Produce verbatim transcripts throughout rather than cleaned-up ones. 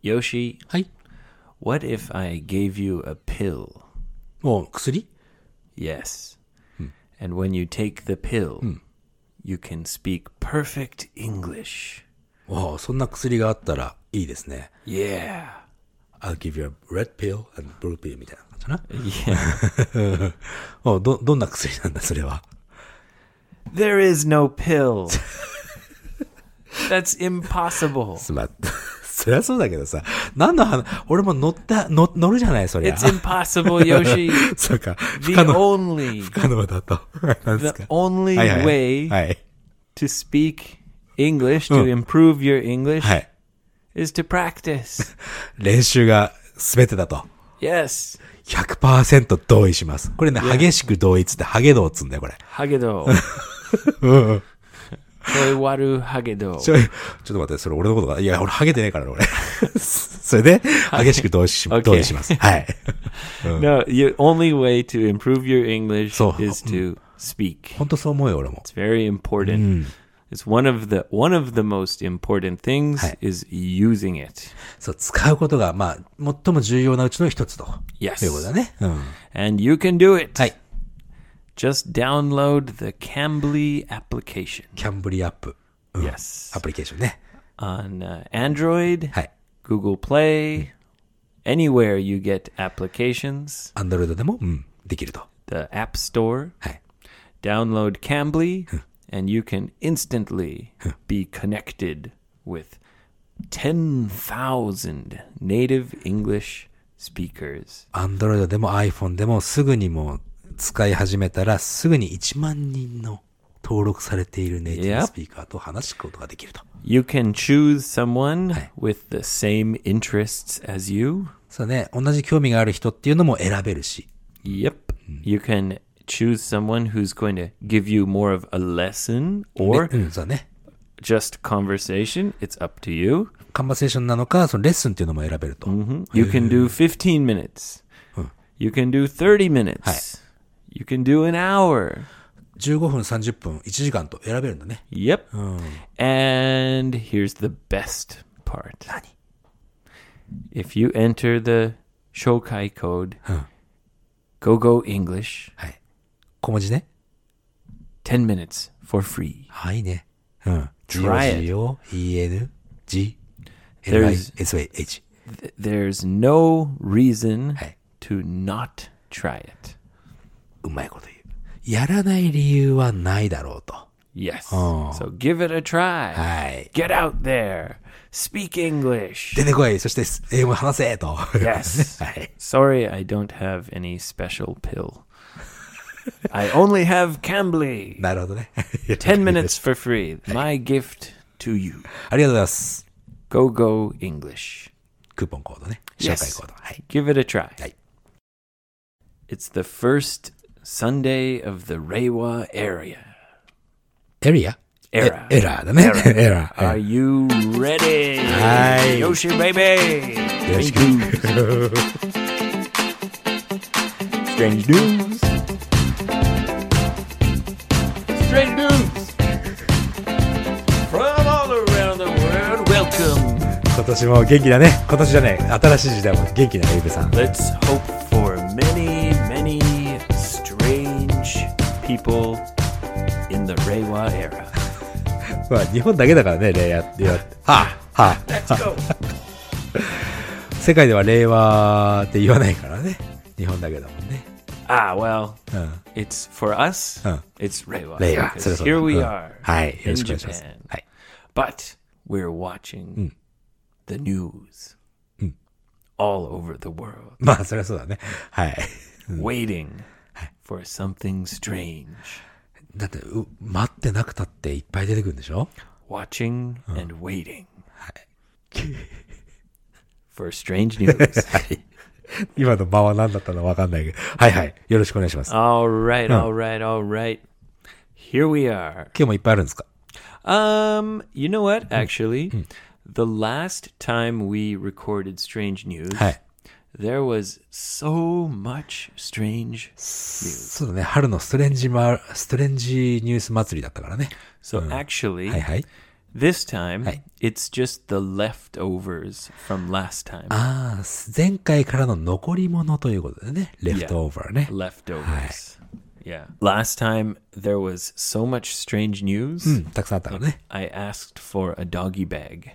Yoshi, はい。 what if I gave you a pill? もう薬 Yes. And when you take the pill, you can speak perfect English. おそんな薬があったらいいですね。 Yeah. I'll give you a red pill and blue pill みたいな感じかな。 Yeah. おど、どんな薬なんだ、それは。 There is no pill. That's impossible. すま、そりゃそうだけどさ、何の話、俺も乗った、乗、乗るじゃない、そりゃ。 It's impossible, Yoshi. そうか。 The 不可能、 only, 不可能だと。何です the か only はいはい way はい。 to speak English, to improve your English, はい。 is to practice. 練習が全てだと。 Yes. ひゃくパーセント 同意します。これね、激しく同意っつって、ハゲドウっつうんだよ、これ。 Hagedo. うん。 Choiwaru Hagedo. ちょい、ちょっと待って、それ俺のことか。いや、俺ハゲてねえからね、俺。それで、激しく同意し、 Okay. 同意します。はい。 No, the only way to improve your English そう。 is to speak. 本当そう思うよ、俺も。 It's very important. It's one of the one of the most important things はい。 is using it. そう、使うことが、まあ、最も重要なうちの一つと。 Yes. ということだね。うん。 And you can do it. はい。 Just download the Cambly application. キャンブリアップ。うん。 Yes. アプリケーションね。 On uh, Android, はい。 Google Play, anywhere you get applications, アンドロイドでも、うん、できると。 the App Store. はい。 Download Cambly, and you can instantly be connected with ten thousand native English speakers. アンドロイドでも iPhone でもすぐにもう使い始めたらすぐにいちまんにんの登録されているネイティブスピーカーと話すことができると。 You can choose someone with the same interests as you. そうね、同じ興味がある人っていうのも選べるし。 Yep. You can choose someone who's going to give you more of a lesson ね or うん、そうね。 just conversation. It's up to you. カンバセーションなのか、そのレッスンっていうのも選べると。 You can do fifteen minutes. You can do thirty minutes. You can do an hour. じゅうごふん、さんじゅっぷん、いちじかんと選べるんだね。 Yep. And here's the best part. 何 If you enter the Shokai code, GoGo English, はい。小文字ね。 ten minutes for free. はいね。うん。 Try it. G O E N G L I S A H. Th- There's no reason はい。 to not try it. うまいこと言う。やらない理由はないだろうと。 Yes. Oh. So give it a try. はい。 Get out there. Speak English. 出てこい。そして、英語話せと。 Yes. はい。 Sorry, I don't have any special pill. I only have Cambly. なるほどね。 ten minutes for free. My gift to you. ありがとうございます。 Go Go English. クーポンコードね。紹 Yes. 介コード。はい。 Give it a try. はい。 It's the first Sunday of the Reiwa area. エリア Era. エラーだね。エラー。 Are you ready? Hi. Yoshi baby. よろし Strange news. Strange news. From all around the world, welcome. 今年も元気だね。今年じゃねえ。新しい時代も元気だね、ゆうべさん。 Let's hope for many, many strange people in the Reiwa era. まあ、日本だけだからね、令和って。はあ、はあ。 Let's go. 世界では令和って言わないからね。日本だけだもんね。 Ah, well, うん。 it's for us, うん。 it's Reiwa. 令和。 because それそうだ here we うん are はい。よろ in しくお願いします。 Japan. はい。 But we're watching the news all over the world, まあ、そりゃそうだね。はい。 waiting for something strange. だって、う、待ってなくたっていっぱい出てくるんでしょ Watching and waiting for strange news. はい。今の間は何だったのかわかんないけど。はいはい。よろしくお願いします。 All right, all right, all right. Here we are. 今日もいっぱいあるんですか Um, you know what? Actually, the last time we recorded strange news, はい。 there was so much strange news. そうだね。春のストレンジマ、ストレンジニュース祭りだったからね。 So actually, はいはい。 This time, はい。 it's just the leftovers from last time. ああ、前回からの残り物ということでね。leftover ね。 Leftovers. Yeah. Last time, there was so much strange news. うん、たくさんあったからね。 I asked for a doggy bag.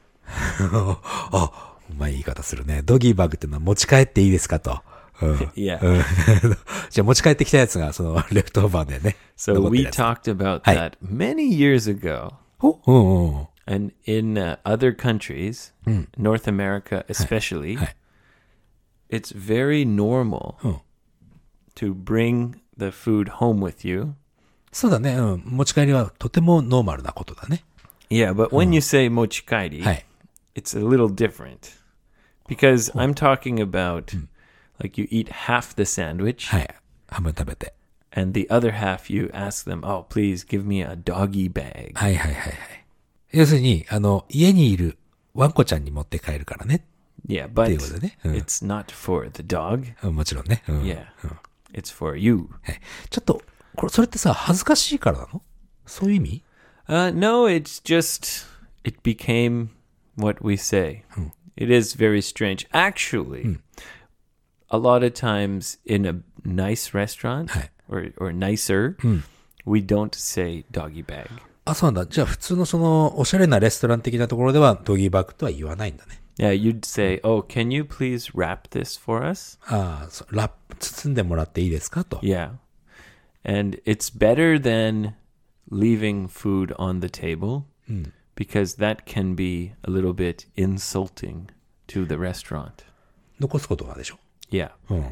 あ、うまい言い方するね。ドギーバッグっていうのは持ち帰っていいですかと。うん、 Yeah. うんじゃあ持ち帰ってきたやつがそのレフトオーバーでね。 So 残ってる we やつ talked about Hi. that many years ago. おうんうん。 And in uh, other countries, North America especially, Hi. it's very normal うん。 to bring the food home with you. そうだね。うん。持ち帰りはとてもノーマルなことだね。 Yeah, but when you say mochikairi, はい。 it's a little different. Because I'm talking about, like, you eat half the sandwich, はい。半分食べて。 and the other half you ask them, oh, please give me a doggy bag. はいはいはいはい。要するに、あの、家にいるワンコちゃんに持って帰るからね。 Yeah, but っていうことでね。うん it's not for the dog. うんもちろんね。うん Yeah, うん it's for you. はいちょっと、これ、それってさ、恥ずかしいからなの？そういう意味？ Uh, no, it's just, it became what we say. It is very strange. Actually, a lot of times in a nice restaurant Hi. or, or nicer, we don't say doggy bag. あ、そうなんだ。じゃあ普通のその、おしゃれなレストラン的なところでは、ドギーバッグとは言わないんだね。 Yeah, you'd say, oh, can you please wrap this for us? ああ、そうラップ、包んでもらっていいですかと。 Yeah. And it's better than leaving food on the table because that can be a little bit insulting to the restaurant. 残すことがでしょ。 Yeah. うん。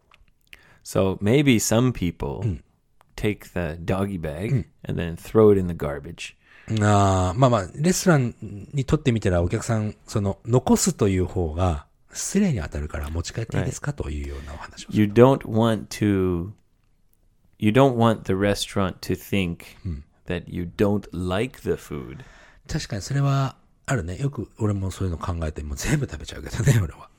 So maybe some people take the doggy bag and then throw it in the garbage. ああ、まあまあ、レストランにとってみたらお客さん、その、残すという方が失礼に当たるから持ち帰っていいですかというようなお話を。 You don't want to, you don't want the restaurant to think that you don't like the food. 確かにそれはあるね。よく俺もそういうの考えて、もう全部食べちゃうけどね、俺は。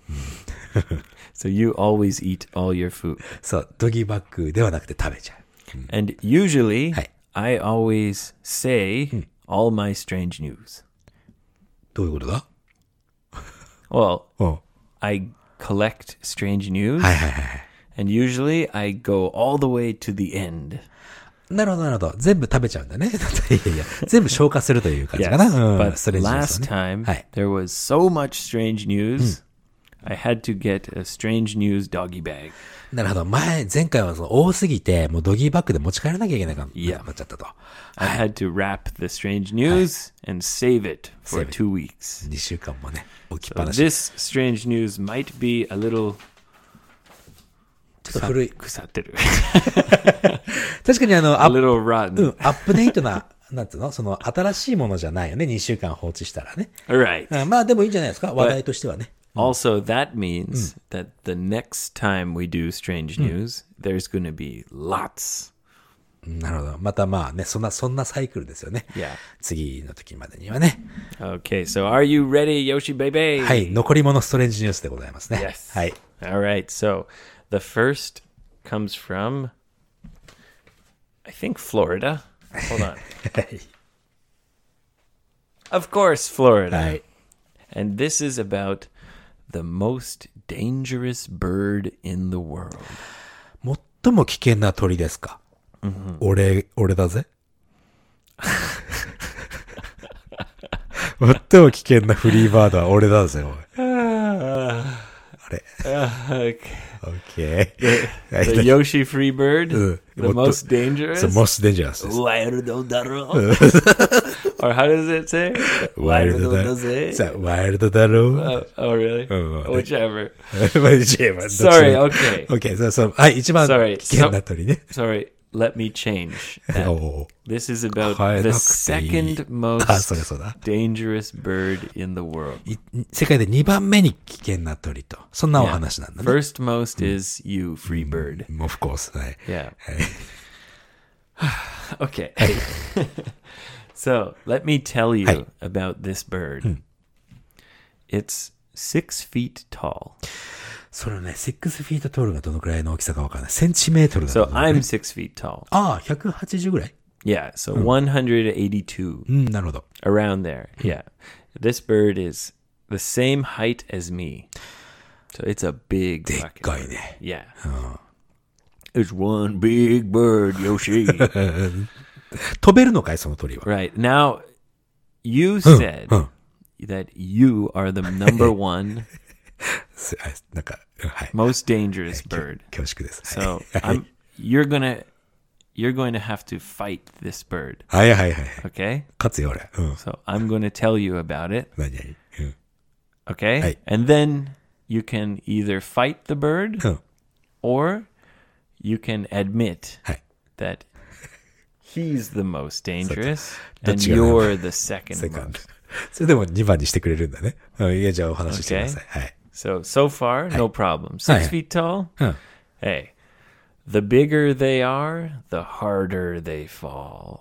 So you always eat all your food. そう、ドギーバッグではなくて食べちゃう。 And usually, Hi. I always say all my strange news. どういうことだ？ Well, うん。 I collect strange news, はいはいはいはい。 and usually I go all the way to the end. なるほどなるほど。全部食べちゃうんだね。いやいや、全部消化するという感じかな。 Yes, うん。 but ストレージニュース last はね。 time はい。 there was so much strange news, I had to get a strange news doggy bag. なるほど。前、前回はその多すぎて、もうドギーバッグで持ち帰らなきゃいけなくなっ Yeah. ちゃったと。 I had to wrap the strange news and save it for Save it. two weeks. にしゅうかんもね、置きっ So ぱなし。 this strange news might be a little ちょっと古い。 腐ってる. 確かにあの、 a アップ、 little う rotten. ん、アップデートな、なんつうのその、新しいものじゃないよね。にしゅうかん放置したらね。 All right. うんまあでもいいんじゃないですか。話題としてはね。 Also, that means that the next time we do strange news, there's going to be lots. なるほど。またまあね、そんな、そんなサイクルですよね。 Yeah. 次の時までにはね。 Okay, so are you ready, Yoshi baby? はい。残り物ストレンジニュースでございますね。 Yes. はい。 All right, so the first comes from, I think, Florida. Hold on. はい。 Of course, Florida. はい。 And this is about the most dangerous bird in the world. 最も危険な鳥ですか。俺、俺だぜ。最も危険なフリーバードは俺だぜ、おい。あれ。 Uh, okay. オッケー。 The Yoshi free bird, Uh, the what the- most dangerous. The most dangerous です。 Wild daro. Or how does it say? ワイルドだ。 Wild さあ、ワイルドだろう。 Oh, oh, really? Oh, Whichever. Sorry, Sorry, okay. OK, そうそう。はい、一番 Sorry. 危険な鳥ね。 Sorry, let me change that. お This is about 変え the なくていい。 second あ、そ most れそうだ。 dangerous bird in the world. い世界でにばんめに危険な鳥と。そんなお Yeah. 話なんだね。 First most is you, free bird. Of course. はい。 Yeah. はい。 Okay. So let me tell you Hey. about this bird. It's six feet tall. それね、シックスフィートトールがどのくらいの大きさかわからない。センチメートルだと So 思うね。 I'm six feet tall. ああ、ひゃくはちじゅうぐらい Yeah, so one hundred eighty-two. うん、なるほど。 Around there, yeah. This bird is the same height as me. So it's a big でっ fucking かい bird. ね。 Yeah. It's one big bird, Yoshi. 飛べるのかいその鳥は。 Right. Now, you said うん。 that you are the number one すあなんか、うんはい。 most dangerous bird. 恐縮です。 So はい I'm you're gonna you're going to have to fight this bird. はいはいはい。 Okay? 勝つよ、俺。うん。 So I'm going to tell you about it. 何々。うん。 Okay? Hey. And then you can either fight the bird うん。 or you can admit はい。 that he's the most dangerous どっ and ちが you're the second セカンド most. それでもにばんにしてくれるんだね。うん。いや、じゃあお話ししてください。はい。 So, so far, no problem. Six Hey. feet tall? うん。 Hey, the bigger they are, the harder they fall.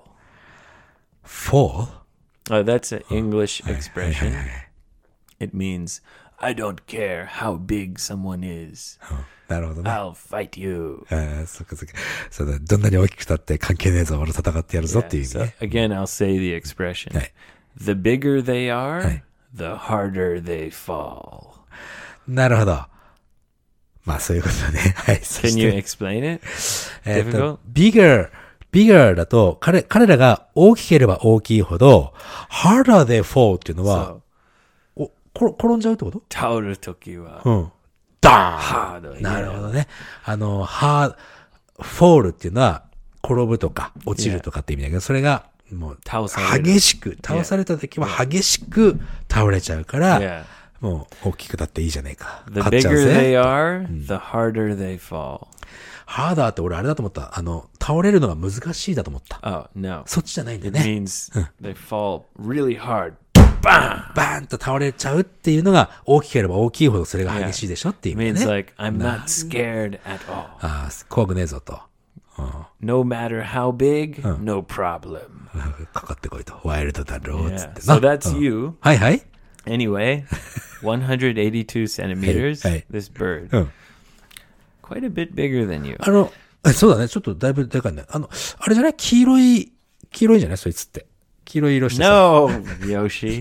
fall? Oh, that's an English expression. It means, I don't care how big someone is. なるほどね。 I'll fight you. ああ、そっかそっか。そうだ、どんなに大きくたって関係ねえぞ、俺戦ってやるぞっていう意味 So ね。 again, I'll say the expression. Hey. The bigger they are, Hey. the harder they fall. なるほど。まあそういうことだね。はい。そ Can し you て explain it? えっと difficult? bigger, bigger だと、彼、彼らが大きければ大きいほど、harder they fall っていうのは、 So, お、こ転んじゃうってこと？ 倒るときは、 うん。ダハード。 ーンなるほどね。あの、ハー、フォールっていうのは、転ぶとか、落ちるとかって意味だけど、それが、もう、 倒される激しく、倒された時は激しく倒れちゃうから、 Yeah. もう大きくなっていいじゃねえか。 The 勝っちゃう bigger ぜ。 they are, the harder they fall. ハーダーって俺あれだと思った。あの、倒れるのが難しいだと思った。 Oh, no. そっちじゃないんだよ It ね。 means they fall really hard. Bam! バーンと倒れちゃうっていうのが大きければ大きいほどそれが激しいでしょっていう It 意味だ means ね。 like, I'm not scared at all. ああ、怖くねえぞと。 No matter how big, no problem. かかってこいと。ワイルドだろうっつっ Yeah. て So な。 that's うん you. はいはい。 Anyway, one hundred eighty-two centimeters, Hey, hey. this bird. うん。 Quite a bit bigger than you. あの、えそうだね。ちょっとだいぶでかいね。あの、あれじゃない黄色い、黄色いんじゃないそいつって。黄色い色してさ。 No, Yoshi.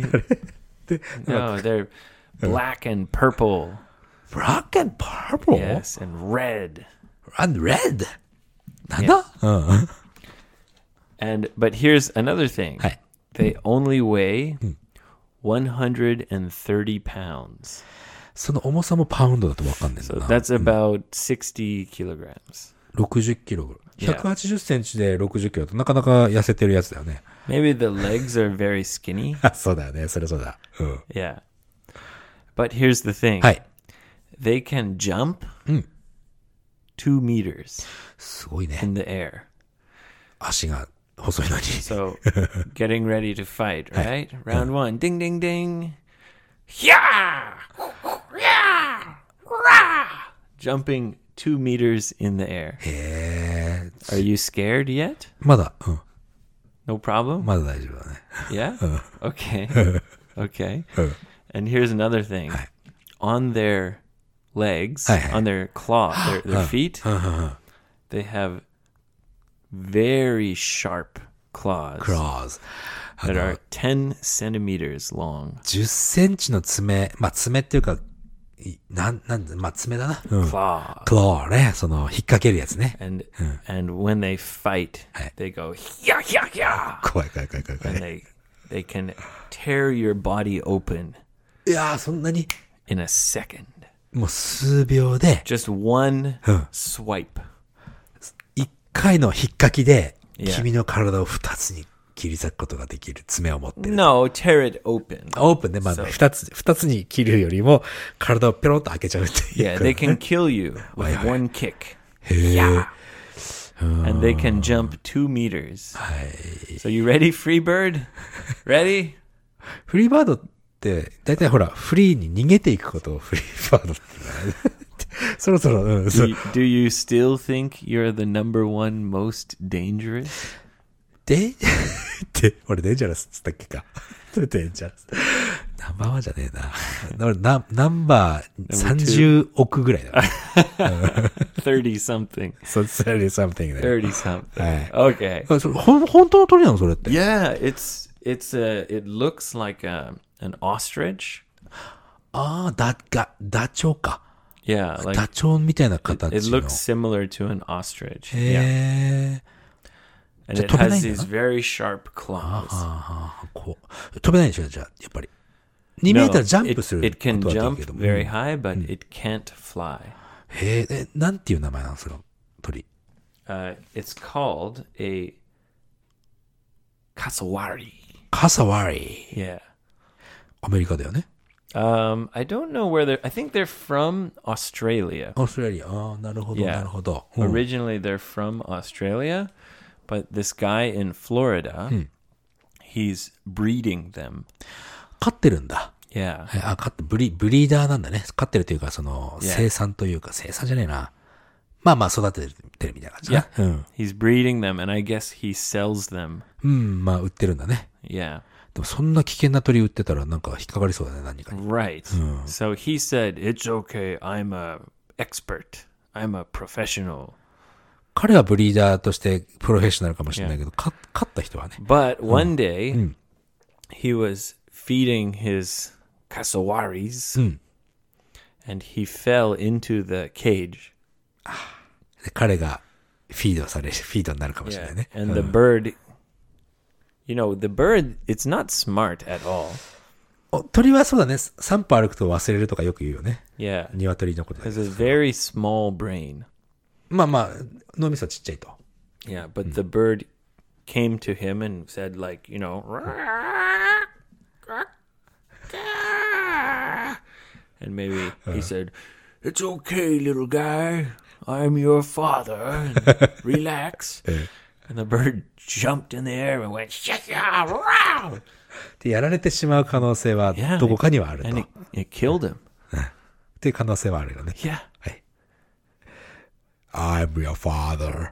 No, they're black and purple. black and purple? Yes, and red. and red? なんだ、うん。 And but here's another thing. はい。 They only weigh one hundred thirty pounds. その重さもパウンドだとわかんないんだ So な。 that's about sixty kilograms. ろくじゅっキロぐらい。 Yeah. ひゃくはちじゅっセンチでろくじゅっキロとなかなか痩せてるやつだよね。 Maybe the legs are very skinny. あ、そうだよね。それそうだ。うん。 Yeah. But here's the thing. はい。 They can jump two meters すごいね。 in the air. 足が細いのに。 So getting ready to fight, right? Round one. Ding ding ding. Yeah! Yeah! Rah! Jumping two meters in the air. へえ。 Are you scared yet? まだ、うん。 No problem? まだ大丈夫だね。 Yeah? Okay. Okay. And here's another thing. On their legs, Hi, hi. on their claw, their, their feet, they have very sharp claws クローズ。あ that の are、ten centimeters long. じゅっセンチの爪、まあ爪っていうか、いなん、なんだ、まあ爪だな。うん。 Claw. クローね。その、引っ掛けるやつね。 And and when they fight, Hi. they go yeah yeah yeah, 怖い怖い怖い怖い怖 and い。 they they can tear your body open いやー、そんなに、 in a second. もう数秒で、 Just one Huh. swipe. 一回の引っ掛きで、 Yeah. 君の体を二つに切り裂くことができる爪を持ってる。 No, tear it open. オープンで、まあ、 So- 二つ、二つに切るよりも、体をペロッと開けちゃうっていう Yeah, か。 they can kill you with Wait, wait. one kick. へえ。 And they can jump two meters. はい。 So you ready, Freebird? Ready? フリーバードって、だいたいほら、フリーに逃げていくことをフリーバードって言うね。そろそろ、うん、そ Do う you, do you still think you're the number one most dangerous? で、で、俺デンジャラスっつったっけか。デンジャラス。 ナンバーワンじゃねえな。俺ナナンバーさんじゅうおくぐらいだね。 thirty something. そう、thirty something だよ。 thirty something. はい。 Okay. それほん本当の鳥なのそれって。 Yeah, it's it's a it looks like a an ostrich. ああ、だがダチョウか。 Yeah, like ダチョウみたいな it, 形の。 it looks similar to an ostrich. へ Yeah. え。 And じゃあ it 飛べな has いんだ these な。 very sharp claws. ああ、こう。飛べないでしょじゃあ、やっぱり。にメー No, タージャン it, プする it can ことは jump できるけど。 very high, but it can't fly. へえ、え、なんていう名前なんその鳥。 Uh, it's called a cassowary. カサワリ。 Yeah. アメリカだよね。 Um, I don't know where they're. I think they're from Australia. オーストラリア。ああ、なるほど、 Yeah. なるほど。うん Originally, they're from Australia, but this guy in Florida, he's breeding them. 飼ってるんだ。 Yeah. えあ、飼って、ブリ、ブリーダーなんだね。飼ってるというか、その、 Yeah. 生産というか、生産じゃねえな。まあまあ、育ててるみたいな感じだ Yeah. な。うん。 He's breeding them, and I guess he sells them. うん、まあ、売ってるんだね。 Yeah. でも、そんな危険な鳥売ってたら、なんか引っかかりそうだね、何かに。 Right. So he said, "It's okay. I'm a expert. I'm a professional." 彼はブリーダーとしてプロフェッショナルかもしれないけど、か飼った人はね。 But one day, he was feeding his cassowaries, and he fell into the cage. で彼がフィードされる、フィードになるかもしれな Yeah. いね。 And the bird, you know, the bird, it's not smart at all. お鳥はそうだね。散歩歩くと忘れるとかよく言うよね。 Yeah. 鶏のことだ It け has ど a very small brain. まあまあ、脳みそはちっちゃいと。 Yeah. But the bird came to him and said, like, you know, and maybe he said, "It's okay, little guy. I'm your father. And relax." And the bird jumped in the air and went, "Shaka!" で、やられてしまう可能性は Yeah, どこかにはあると。 and っ it, it killed him. ていう可能性はあるよね。 Yeah. はい。I'm your father.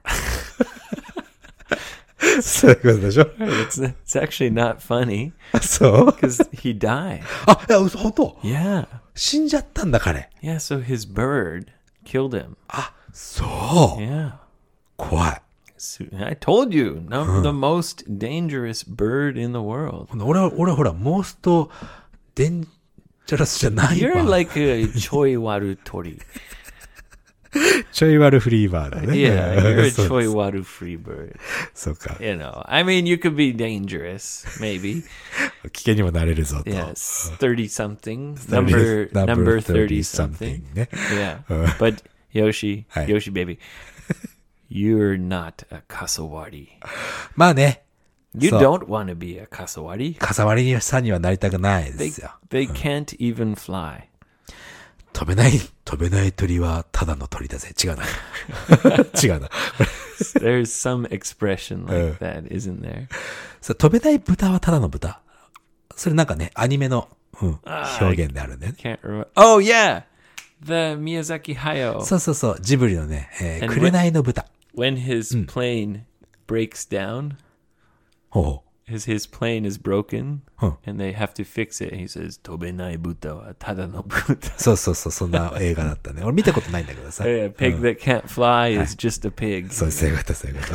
そういうことでしょ It's it's actually not funny そう because he died. あ、いや、嘘、本当 Yeah. 死んじゃったんだ、彼。 Yeah, so his bird killed him. あ、そう。 Yeah. 怖い。 So, I told you, no, the most dangerous bird in the world. 俺は、俺はほら、モーストデンジャラスじゃないわ。 You're like a choiwaru tori. ちょい悪フリーバーだね。 Yeah, you're a そう choiwaru free bird. そうか。 You know, I mean, you could be dangerous, maybe. 危険にもなれるぞと。 Yes, thirty something, number number thirty something. ね。 Yeah, but Yoshi, Hi. Yoshi baby, you're not a kasawari. まあね。 You そう don't want to be a kasawari. かさわりさんにはなりたくないで They すよ。 they can't even fly. 飛べない、飛べない鳥はただの鳥だぜ。違うな。違うな。 There's some expression like that, isn't there? そう飛べない豚はただの豚。それなんかね、アニメの、うん、表現であるんだよね。 Can't remember. Oh yeah, the Miyazaki Hayao. そうそうそう、ジブリのね、えー、 And 紅の豚。 When his plane breaks down, ほう。 his his plane is broken, Huh. and they have to fix it. He says, "Tobenai buta wa tada no buta." そうそうそう、そんな映画だったね。俺見たことないんだけどさ。 A pig that can't fly is just a pig. そう、そういうこと、そういうこと。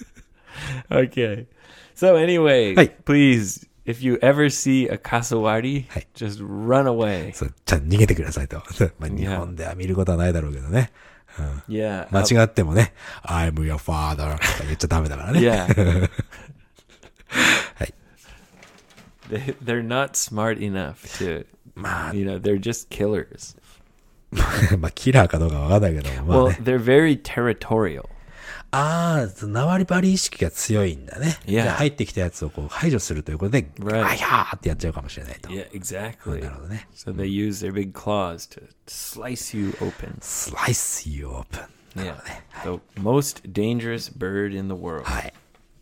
Okay. So anyway, Hey. please, if you ever see a kasawari, Hey. just run away. そう、ちゃんと逃げてくださいと。まあ、日本では見ることはないだろうけどね。 Yeah. 間 uh, 違ってもね、I'm your father とか言っちゃダメだからね。 yeah. はい。 They, they're not smart enough to, まあ、 you know, they're just killers. まあ、キラーかどうかわかんないけども、まあ Well, ね。 they're very territorial. ああ、縄張り意識が強いんだね。 Yeah. で入ってきたやつをこう排除するということで、 Right. あやーってやっちゃうかもしれないと。 Yeah, exactly. なるほどね。 So they use their big claws to slice you open. slice you open. Yeah. The most dangerous bird in the world. はい。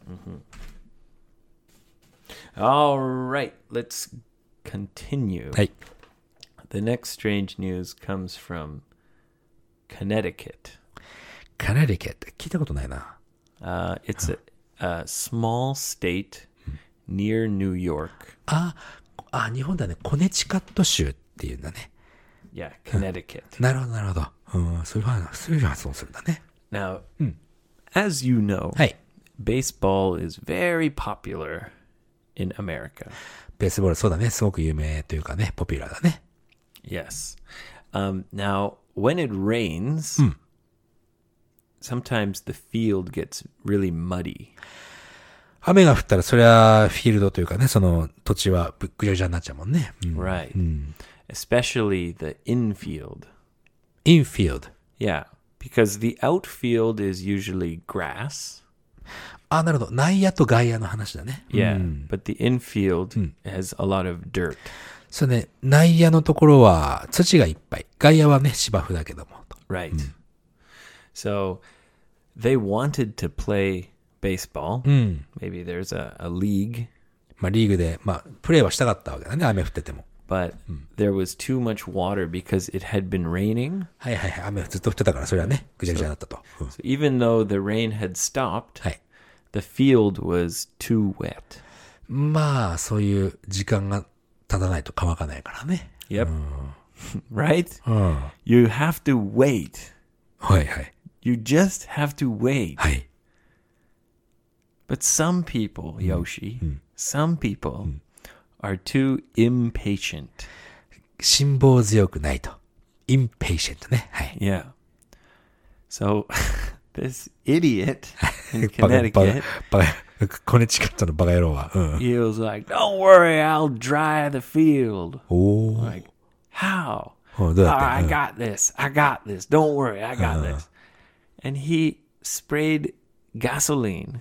All right, let's continue. はい。 The next strange news comes from Connecticut. カナリケって聞いたことないな。 Uh, it's a, a small state near New York. あ、 あ、日本ではね、コネチカット州っていうんだね。 Yeah, Connecticut. なるほど、なるほど。うん、そういう話、そういう発音するんだね。 Now, as you know, はい。 baseball is very popular in America. ベースボール、そうだね。すごく有名というかね、ポピュラーだね。 Yes. Um, now, when it rains, sometimes the field gets really muddy. 雨が降ったら、それはフィールドというかね、その土地はぐぐちゃぐちゃになっちゃうもんね。うん、 Right. Especially the infield. infield. Yeah, because the outfield is usually grass. あ、なるほど。内野と外野の話だね。 Yeah, but the infield has a lot of dirt. そうね、内野のところは土がいっぱい。外野はね、芝生だけども。 Right. So they wanted to play baseball. Maybe there's a, a league, まあ、リーグで、まあ、プレーはしたかったわけだね。雨降ってても。 but there was too much water because it had been raining. はいはいはい。雨ずっと降ってたから、それはね、ぐちゃぐちゃになったと。うん So even though the rain had stopped, はい。 the field was too wet. まあ、そういう時間が経たないと乾かないからね。 Yep. Right? うん。 You have to wait. はいはい。 You just have to wait. はい。 But some people, Yoshi, some people are too impatient. 辛抱強くないと。impatient ね。はい。 Yeah. So this idiot in バカ、バ Connecticut, カ、バカ、コネチカットのバカ野郎は。うん。 he was like, "Don't worry, I'll dry the field." おー。 Like, how? うんどう Oh, やって I got this. I got this. Don't worry, I got this. And he sprayed gasoline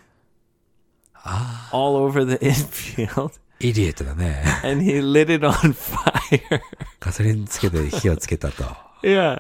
all over the infield, イディエットだね。 and he lit it on fire. ガソリンつけて火をつけたと。 Yeah,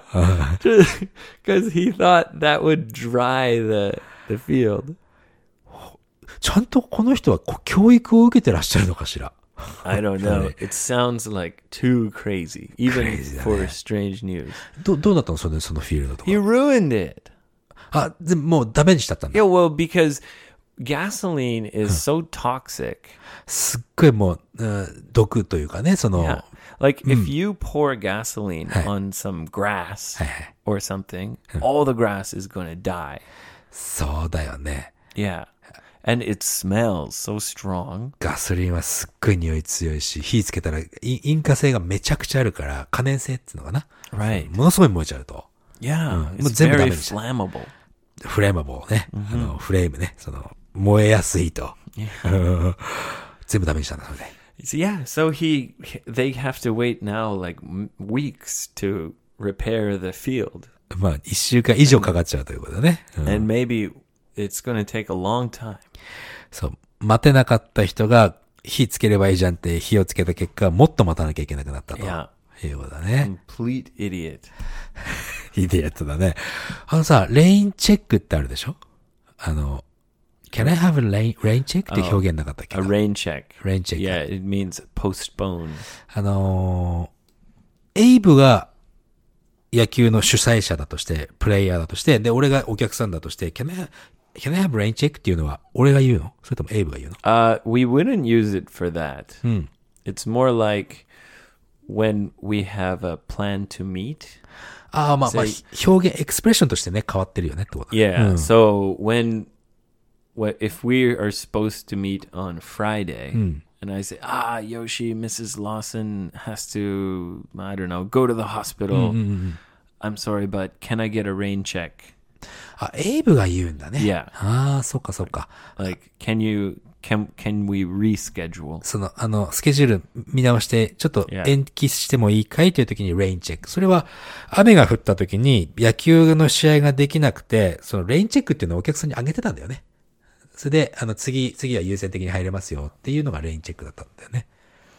because he thought that would dry the the field. ちゃんとこの人はこ教育を受けてらっしゃるのかしら。 I don't know. It sounds like too crazy, even Crazy, for yeah. strange news. ど、どうなったのその、そのフィールドとか He。ruined it. あ、でもうダメにしちゃったんだ。 Yeah, well, because gasoline is so toxic. すっごいもう、うん毒というかね、その、 Yeah. Like if you pour gasoline on some grass or something, all the grass is going to die. そうだよね。 Yeah. And it smells so strong. ガソリンはすっごい匂い強いし、火つけたら、イ引火性がめちゃくちゃあるから、可燃性っていうのかな。 Right. ものすごい燃えちゃうと。 Yeah. It's もう全部ダ very メにしちゃう。 flammable. フレーマボーね。あの、フレームね。その、燃えやすいと。全部ダメにしたんだ、それで。 So, yeah. So he, they have to wait now like m- weeks to repair the field. まあ、一週間以上かかっちゃうということだね。うん And maybe it's going to take a long time. そう。待てなかった人が、火つければいいじゃんって火をつけた結果、もっと待たなきゃいけなくなったと。 Yeah. いうことだね。 Complete idiot. イディエットだね。あのさ、レインチェックってあるでしょあの、Can I have a rain, rain check? って表現なかったっけ A rain check. Rain check. Yeah, it means postpone. あのー、エイブが野球の主催者だとして、プレイヤーだとして、で、俺がお客さんだとして、Can I, can I have rain check? っていうのは、俺が言うのそれともエイブが言うの Uh, we wouldn't use it for that. It's more like when we have a plan to meet. ああ、まあまあ、表現、エクスプレッションとしてね、変わってるよねってこと。 Yeah. So when, what if we are supposed to meet on Friday, and I say, ah, Yoshi, Missus Lawson has to, I don't know, go to the hospital. I'm sorry, but can I get a rain check? あ、エイブが言うんだね。 Yeah. ああ、そっかそっか。 Like, can you, can, can we reschedule? その、あの、スケジュール見直して、ちょっと Yeah. 延期してもいいかいという時にレインチェック。それは、雨が降った時に野球の試合ができなくて、そのレインチェックっていうのをお客さんにあげてたんだよね。それで、あの、次、次は優先的に入れますよっていうのがレインチェックだったんだよね。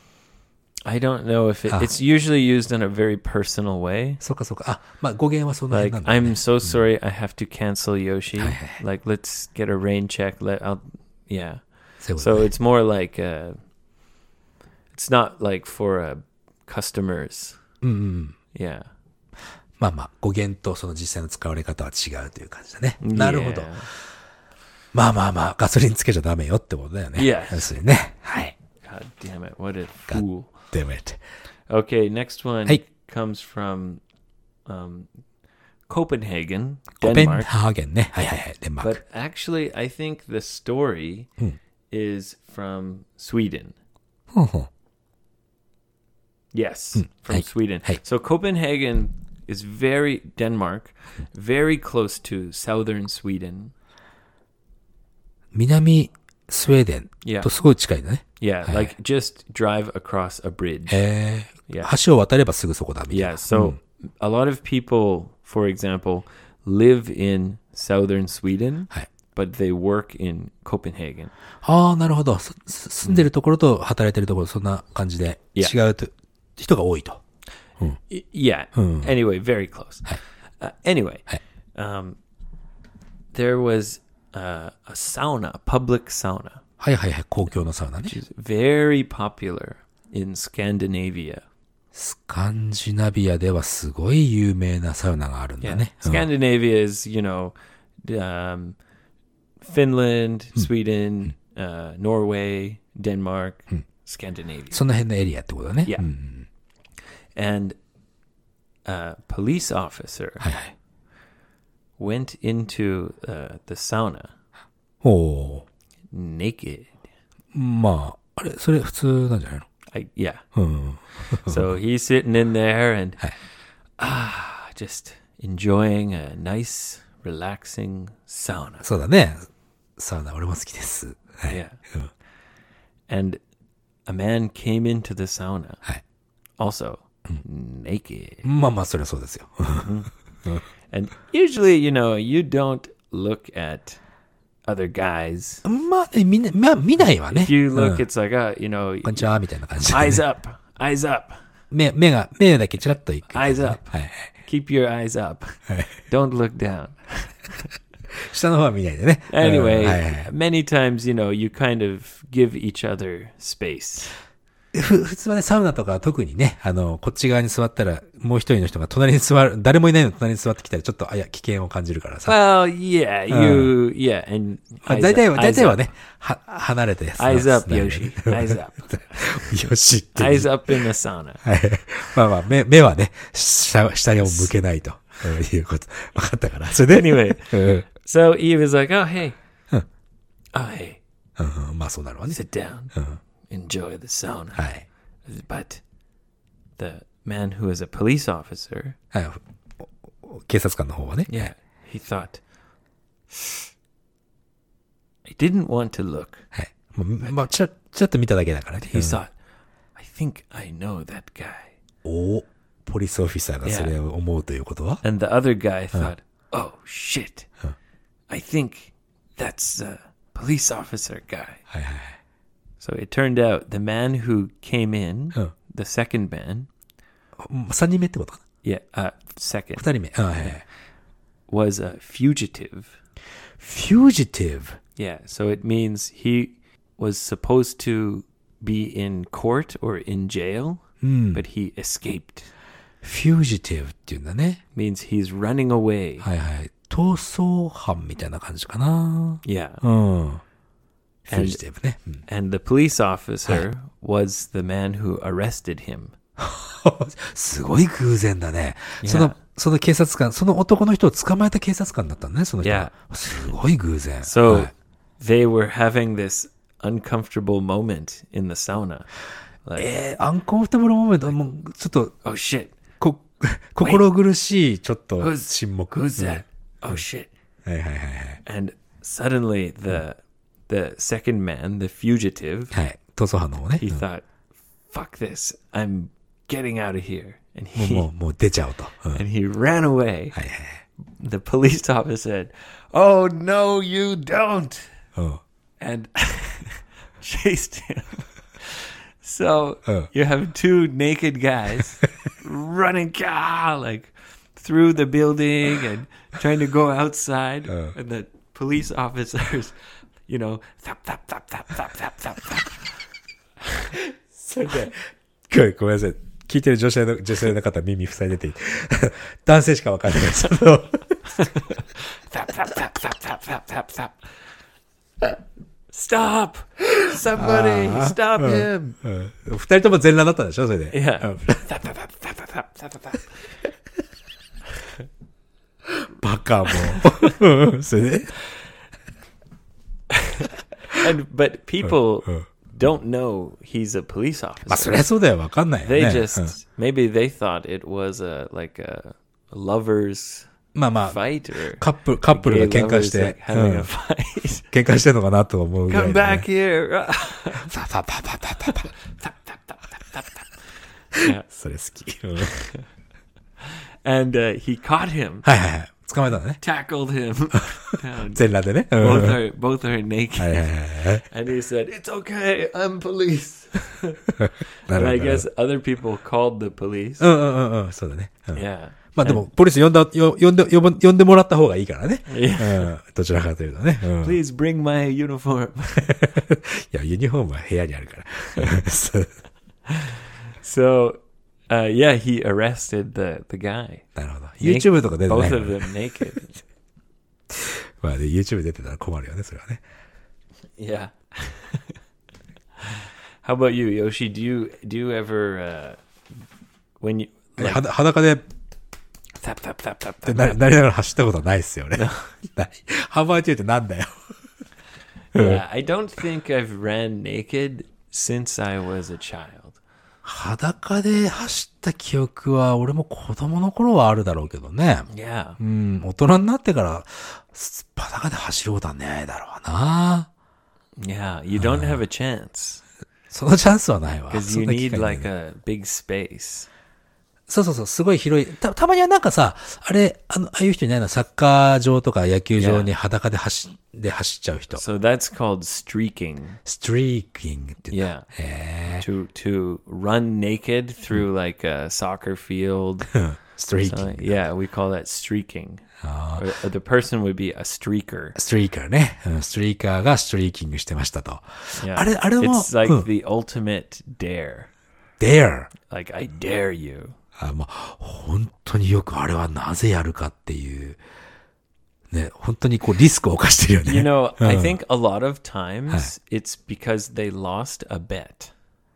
I don't know if it, it's usually used in a very personal way. そうかそうか。あ、まあ語源はそんな辺 Like, なんだ、ね。 I'm so sorry, I have to cancel Yoshi. Like, let's get a rain check. Let, I'll, yeah. そういうこと So ね it's more like, uh, it's not like for uh, customers. うんうん。 Yeah. まあまあ、語源とその実際の使われ方は違うという感じだね。なるほど。 Yeah. まあまあまあ、ガソリンつけちゃダメよってことだよね。 Yes. 要するにね。はい。 God damn it. What a fool. damn it. Okay, next one Hey. comes from um, Copenhagen, コペン Denmark. ハーゲンね。はいはいはい。デンマーク。 But actually, I think the story is from Sweden. ほうほう Yes, from Hey. Sweden. Hey. So Copenhagen is very, Denmark, very close to southern Sweden. 南スウェーデン Yeah. とすごい近いんだね。 Yeah, Hey. like just drive across a bridge. へえ。 Yeah. 橋を渡ればすぐそこだみたいな。 Yeah, so a lot of people, for example, live in southern Sweden, はい。 but they work in Copenhagen. ああ、なるほど。すす住んでるところと働いてるところ、そんな感じで Yeah. 違うと人が多いと。 Y- yeah. Hmm. Anyway, very close. Uh, anyway, Hey. um, there was uh, a sauna, a public sauna, はいはいはい。公共のサウナね。 which is very popular in Scandinavia. スカンジナビアではすごい有名なサウナがあるんだ Yeah. ね。うん Scandinavia is, you know, um, Finland, Sweden, uh, Norway, Denmark, Scandinavia. その辺のエリアってことだね。 Yeah. うん And a police officer はいはい。 went into uh, the sauna おお naked. ー。まあ、あれ、それ普通なんじゃないの I, yeah. うん。 So he's sitting in there and Hey. ah, just enjoying a nice, relaxing sauna. そうだね。サウナ俺も好きです。はい。 Yeah. うん。 And a man came into the sauna, はい。 also naked. まあまあ、それはそうですよ。 And usually, you know, you don't look at other guys. まあね、みんな、まあ見ないわね。 If you う look, ん it's like, uh, you know, こんにちは、みたいな感じでね、 eyes up, eyes up, 目、目が、目だけチラッといく、 eyes up. はいはい。 Keep your eyes up. はい Don't look down. 下の方は見ないでね。 Anyway, うんはいはい many times, you know, you kind of give each other space. ふ普通はね、サウナとかは特にね、あの、こっち側に座ったら、もう一人の人が隣に座る、誰もいないの隣に座ってきたら、ちょっと、あ、いや、危険を感じるからさ。 Well, yeah, you, yeah, and まあ eyes 大体は、 up, 大 eyes 体は up. ね、は、離れてやつ Eyes up, Yoshi. Eyes up. よしって。 Eyes up in the sauna. はい。まあまあ、目、目はね、下、下にも向けないと。いうこと。分かったから。それで。 Anyway, うん so Eve is like, oh, hey. Huh. Oh, hey, うん、まあそうなるわね。 sit down. Enjoy the sauna. はい。 But the man who is a police officer, はい。お警察官の方はね。 yeah, he thought, I didn't want to look. はい。まあ、まあ、ちょ、ちょっと見ただけだからね。 He thought, I think I know that guy. おポリスオフィサーがそれを思うということは、 And the other guy thought, oh, shit. I think that's the police officer guy. はいはい。 So it turned out the man who came in, Huh. the second man, 三人目ってことか yeah, uh, second, な二人目。あはいはい。 was a fugitive. fugitive. Yeah, so it means he was supposed to be in court or in jail, but he escaped. fugitive っていうんだね。 Means he's running away. はいはい。逃走犯みたいな感じかな。 Yeah. うん。fugitive ね。うん And the police officer was the man who arrested him. すごい偶然だね。 Yeah. その、その警察官、その男の人を捕まえた警察官だったんだね、その人が。すごい偶然。 So はい they were having this uncomfortable moment in the sauna. Like, えー、アンコンフォータブルモーメント、もう、ちょっと、 oh shit, こ、心苦しい、ちょっと、 who's, 沈黙。 who's that? Oh shit. はいはいはいはい。 And suddenly the the second man, the fugitive, はい。逃走犯の方ね。 he thought, fuck this, I'm getting out of here. And もう、 he もう、もう出ちゃおうと。うん、はい and he ran away. はいはい。 The police officer said, oh no, you don't. うん。 And chased him. So Oh. you have two naked guys running ah, like through the building and trying to go outside. Oh. And the police officers, you know, thap, thap, thap, thap, thap, thap, thap, thap. それで、ごめんごめんなさい。聞いてる女性の、女性の方耳塞いでて、男性しかわかんないです。その Thap, thap, thap, thap, thap, thap, thap, thap. Stop! Somebody, stop him! うん。二人とも全裸だったんでしょそれで。 Yeah. バカも。それで And, but people don't know he's a police まあ、そ officer. りゃそうだよ。わかんないよ They ね。うん just, maybe they thought it was a, like a lovers まあまあ、 fight or カップル、カップルが gay 喧嘩 lovers して、 like う having ん a fight. 喧嘩してんのかなと思うぐらい Come でね、 back here! パパパパパパパ。 Yeah. それ好き。うん And uh, he caught him, はいはいはい。捕まえたのね。 tackled him down. 全裸でね。うん Both are, both are はい naked. はいはいはい。 And he said, "It's okay, I'm police." なる And ほ I ど。 guess other people called the police. うんうんうんうん。そうだね。うん Yeah. まあでも、ポリス呼んだ、よ呼んで、呼ば呼んでもらった方がいいからね。 Yeah. うん。どちらかというとね。うん、い Please bring my uniform. や、ユニフォームは部屋にあるから。そう So, uh, yeah, he arrested the, the guy. なるほど。YouTube とか出てない Both から of ね them naked. まあね、YouTube 出てたら困るよね、それはね。 Yeah. How about you, Yoshi? Do you do you ever uh, when you え like はだ裸で、 tap tap tap tap って tap? ななりながら走ったことはないっすよね。ないハンバーチューってなんだよ。 Yeah, I don't think I've ran naked since I was a child. 裸で走った記憶は、俺も子供の頃はあるだろうけどね。 Yeah. うん、大人になってから、す裸で走ることはないだろうな。 Yeah, you don't have a chance そのチャンスはないわ。 because そ you んな機 need 会ない like a big space. そうそうそう、すごい広い。た、たまにはなんかさ、あれ、あの、ああいう人いないのサッカー場とか野球場に裸で走、で走っちゃう人。 So that's called streaking. ストリーキングって言うんだ。 Yeah. へ To to run naked through like a soccer field. ぇストリーキ So, ング。 yeah, we call that streaking. Or, or the person would be a streaker. ストリーカーね。うんストリーカーがストリーキングしてましたと。 Yeah. あれ、あれも、 It's like うん、 the ultimate dare. dare。 Like I dare you. あ、もう、本当によくあれはなぜやるかっていう、ね、本当にこうリスクを冒してるよね。 You know, うん I think a lot of times it's because they lost a bet.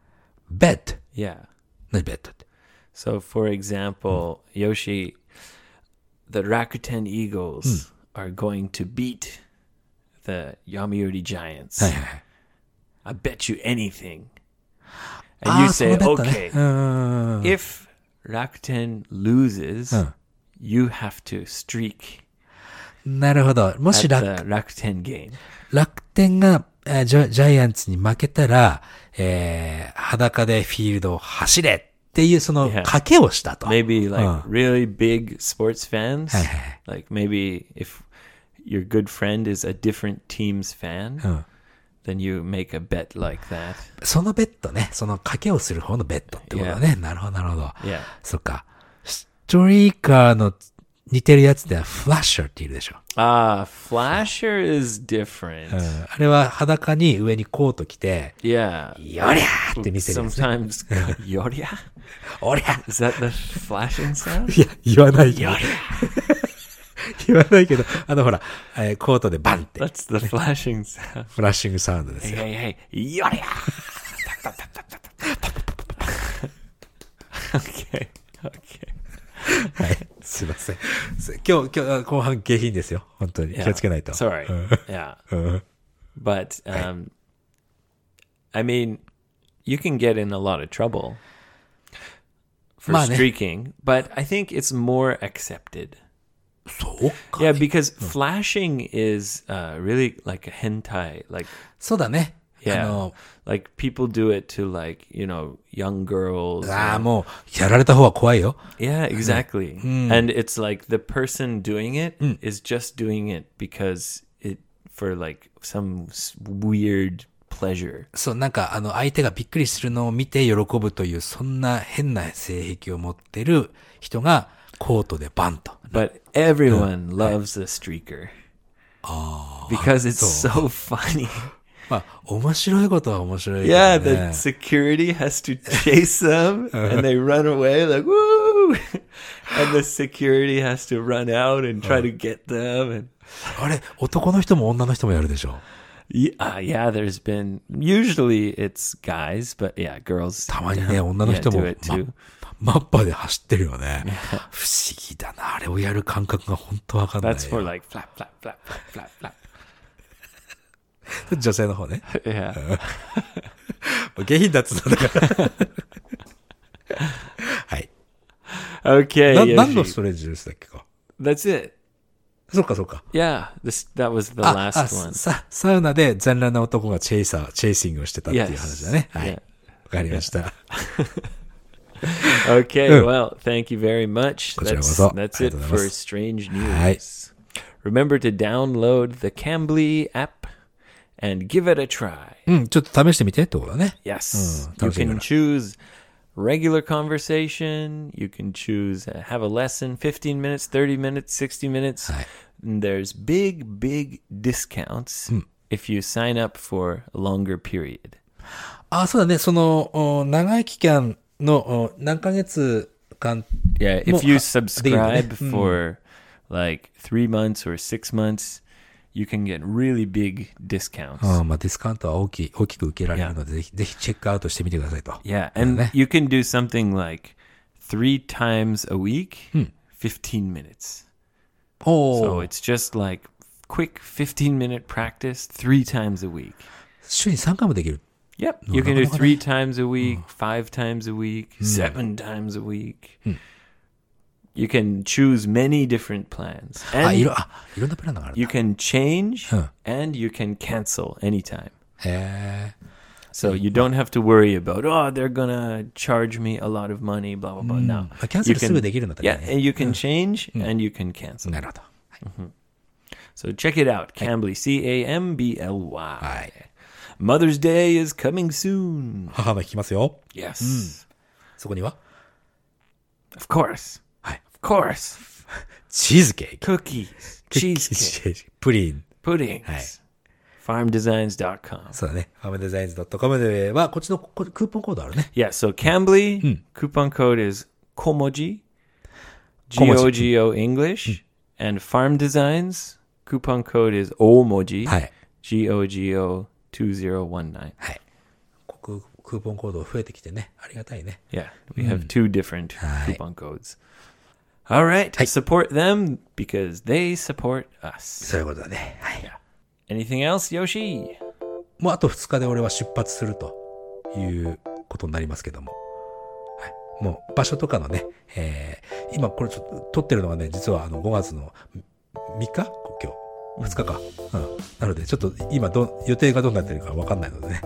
bet。 Yeah. 何 bet って。 So, for example, Yoshi, the Rakuten Eagles are going to beat the Yomiuri Giants. はいはいはい。 I bet you anything. あ And you ー、その say, ベッドね。 okay, うん。 if Rakuten loses, うん you have to streak なるほど。もし at 楽、 the Rakuten game. 楽天が、えージャ、ジャイアンツに負けたら、えー、裸でフィールドを走れっていうその Yeah. 賭けをしたと。 Maybe like うん really big sports fans. はいはいはい。 Like maybe if your good friend is a different team's fan, うん。 then you make a bet like that. そのベッドね。その賭けをする方のベッドってことだね。なるほど、なるほど。 Yeah. そっか。ストリーカーの似てるやつではフラッシャーっているでしょ。 Ah, flasher is different. うん。あれは裸に上にコート着て、 Yeah. よりゃーって見せるやつね。 Sometimes Yoria? おりゃ Is that the flashing sound? いや、言わないけど。言わないけど、あのほら、えーコートでバンって、 That's the flashing sound. フラッシングサウンドです Hey, よ。 hey, hey. Yoria! Okay. Okay. はい。すいません。す今日、今日、後半下品ですよ。本当に。気をつけないと。 Sorry. うん Yeah. うん But um, I mean, you can get in a lot of trouble for まあね。 streaking, but I think it's more accepted. そうか。 Yeah, because flashing is uh, really like a hentai. Like, そうだね。あ yeah, の、 like people do it to like you know young girls. ああ、 or- もう、やられた方は怖いよ。 yeah, exactly. And it's like the person doing it is just doing it because it for like some s- weird pleasure. そう、なんか、あの、相手がびっくりするのを見て喜ぶという、そんな変な性癖を持ってる人が、コートでバンと。 But everyone loves a streaker because it's so funny. まあ、面白いことは面白いけど Yeah, ね。 the security has to chase them and they run away like woo, and the security has to run out and try to get them. And あれ、男の人も女の人もやるでしょ。 Yeah, uh, yeah, there's been, usually it's guys, but yeah, girls. たまにね、女の yeah, 人も do it ま too. マッパで走ってるよね。不思議だな。あれをやる感覚が本当わかんないよ。 That's for like flap, flap, flap, flap, flap, flap. 女性の方ね。 Yeah. 下品だっつうんだから。はい。 Okay. な、 Yoshi. 何のストレッチですだっけか。 That's it. そっかそっか。 Yeah, this that was the あ、 last あ one. さ、サウナで残乱な男がチェイサー、チェイシングをしてたっていう Yes. 話だね。はい。 Yeah. わかりました。 Okay, Mm. well, thank you very much. こちらこ That's, そ。 that's it ありがとうござい for ます。 Strange はい。 News. Remember to download the Cambly app and give it a try. うん、ちょっと試してみてってことだね。 Yes, Mm, you 楽しみだ can な。 choose regular conversation. You can choose uh, have a lesson, fifteen minutes, thirty minutes, sixty minutes. はい。 And there's big, big discounts if you sign up for a longer period. あ、そうだね。その、お長い期間の、お何ヶ月間、 Yeah, もう、 if you は、できるね。 subscribe for like three months or six months, you can get really big discounts. ああ、まあディスカウントは大きい、大きく受けられるので、ぜひ、ぜひチェックアウトしてみてくださいと。 Yeah, and ね。 you can do something like three times a week, fifteen minutes. お So ー、 it's just like quick fifteen minute practice three times a week. 週にさんかいもできる。 Yep. You can do no, no, no. three times a week, five times a week, seven times a week. You can choose many different plans. あ、い And ろ、あ、いろんなプランがあるん you だ。 can change Huh. and you can cancel anytime. へえ。 So you don't have to worry about, oh, they're going to charge me a lot of money, blah, blah, blah. No. まあキャンセ You ルす can, ぐできるんだったら yeah, ね。 and you can change and you can cancel. なるほど。 So check it out. Cambly, C A M B L Y. はい。 Mother's Day is coming soon. 母の日来ますよ。 Yes. そこには Of course. はい。 Of course. チーズケーキ。 Cookies, チ cheesecake, ーズケーキ。プリン。 puddings. Hi. farm designs dot com. そうだね。ファームデザインズ .com では、こっちのこクーポンコードあるね。 Yeah, so Cambly, coupon code is Komoji, G Komoji. O G O English, and Farm Designs, coupon code is Omoji, はい。 G O G O two zero one nine. はい。ククーポンコード増えてきてね。ありがたいね。 Yeah, we have two different Hi. coupon codes. All right, support them because they support us. そういうことだね。はい。 Anything else, Yoshi? もうあとふつかで俺は出発するということになりますけども。はい。もう場所とかのね、えー、今これちょっと撮ってるのがね、実はあのごがつのみっか今日。ふつかか。うん。なのでちょっと今ど、予定がどうなってるかわかんないのでね。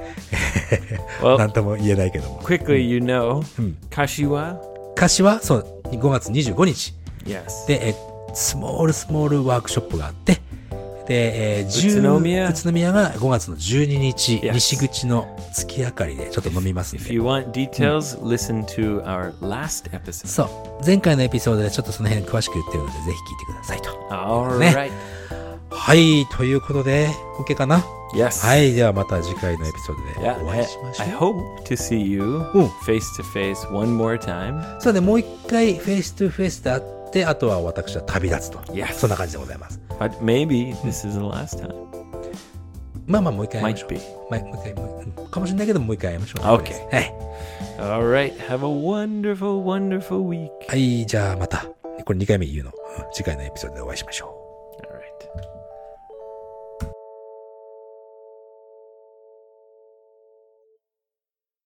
Well, なんとも言えないけども。 quickly, you know, Kashiwa? 歌詞は、そう、ごがつにじゅうごにち。 Yes. で、え、スモールスモールワークショップがあって、で、えー、 宇都宮宇都宮がごがつのじゅうににち、 Yes. 西口の月明かりでちょっと飲みますん If で。 you want details, listen to our last episode. そう。前回のエピソードでちょっとその辺詳しく言ってるので、ぜひ聞いてくださいと。 All ね。 right. はい。ということで、OK かな Yes. はい。ではまた次回のエピソードで Yeah, お I, 会いしましょ I う。 hope to see you Mm. face to face one more time. そうね、もう一回フェイストゥフェイスで会って、あとは私は旅立つと。 Yes. そんな感じでございます。 But maybe this is the last time. まあまあもう一回会いましょ Might う。 be. まあもう一回、もううんかもしれないけど、もう一回会いましょう。 Okay. はい。 All right. Have a wonderful, wonderful week. はい、じゃあまた、これにかいめ言うの。うん次回のエピソードでお会いしましょう。 All right.